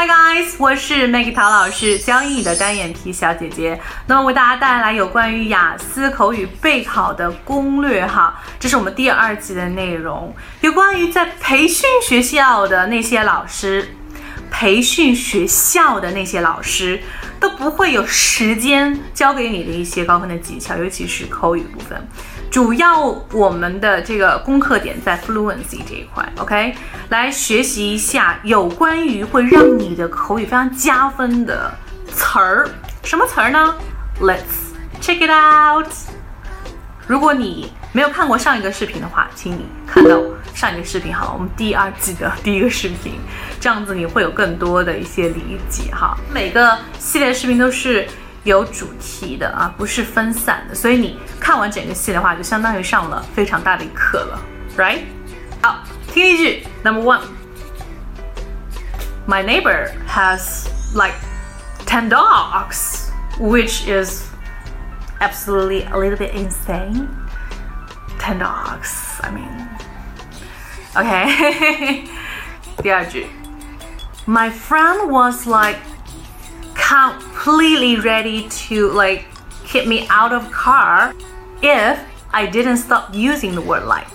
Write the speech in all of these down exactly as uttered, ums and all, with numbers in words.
Hi guys， 我是 Maggie 陶老师，教英语的单眼皮小姐姐。那么为大家带来有关于雅思口语备考的攻略哈，这是我们第二季的内容，有关于在培训学校的那些老师，培训学校的那些老师都不会有时间教给你的一些高分的技巧，尤其是口语部分。主要我们的这个功课点在 fluency 这一块 ，OK， 来学习一下有关于会让你的口语非常加分的词儿。什么词儿呢 ？Let's check it out。如果你没有看过上一个视频的话，请你看到上一个视频好了，我们第二季的第一个视频，这样子你会有更多的一些理解哈。每个系列视频都是有主题的啊，不是分散的，所以你看完整个戏的话，就相当于上了非常大的一课了 ，right？ 好，听一句 ，Number one， My neighbor has like ten dogs, which is absolutely a little bit insane. Ten dogs, I mean, okay. 第二句 ，My friend was like.completely ready to like kick me out of car if I didn't stop using the word like.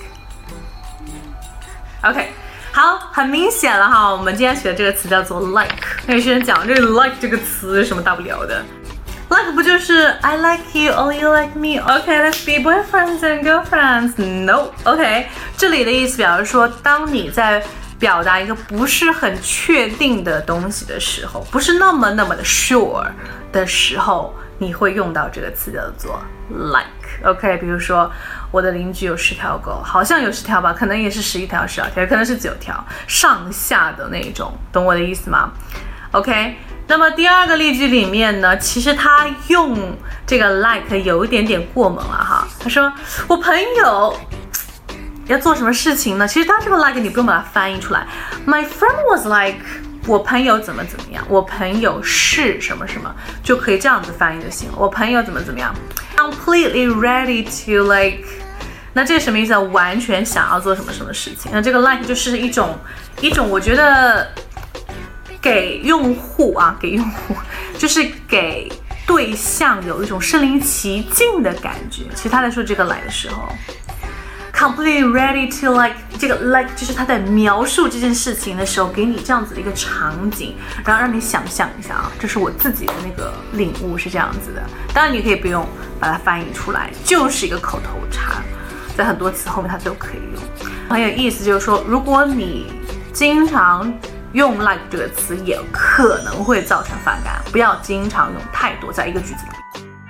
OK， 好，很明显了哈，我们今天学的这个词叫做 like。有些人讲这个 like 这个词有什么大不了的 ？like 不就是 I like you, or you like me? OK, let's be boyfriends and girlfriends. No, OK， 这里的意思表示说，当你在表达一个不是很确定的东西的时候，不是那么那么的 sure 的时候，你会用到这个词叫做 like。OK， 比如说我的邻居有十条狗，好像有十条吧，可能也是十一条、十二条，可能是九条，上下的那种，懂我的意思吗 ？OK， 那么第二个例句里面呢，其实他用这个 like 有一点点过猛了哈。他说我朋友要做什么事情呢？其实当这个 like 你不用把它翻译出来。My friend was like， 我朋友怎么怎么样，我朋友是什么什么，就可以这样子翻译就行了。我朋友怎么怎么样 ，completely ready to like， 那这是什么意思啊？完全想要做什么什么事情。那这个 like 就是一种一种，我觉得给用户啊，给用户就是给对象有一种身临其境的感觉。其实他在说这个 like 的时候。completely ready to like， 这个 like 就是他在描述这件事情的时候，给你这样子的一个场景，然后让你想象一下啊，这是我自己的那个领悟是这样子的。当然你可以不用把它翻译出来，就是一个口头禅，在很多词后面它都可以用。很有意思，就是说，如果你经常用 like 这个词，也可能会造成反感，不要经常用太多在一个句子里面。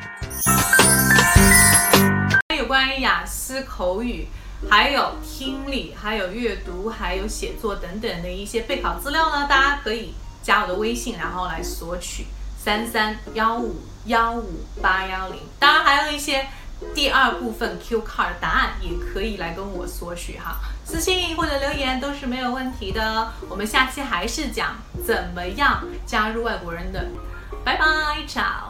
有关于雅思口语，还有听力，还有阅读，还有写作等等的一些备考资料呢，大家可以加我的微信，然后来索取三三幺五幺五八幺零。当然还有一些第二部分 Q card 答案也可以来跟我索取哈，私信或者留言都是没有问题的。我们下期还是讲怎么样加入外国人的，拜拜，ciao。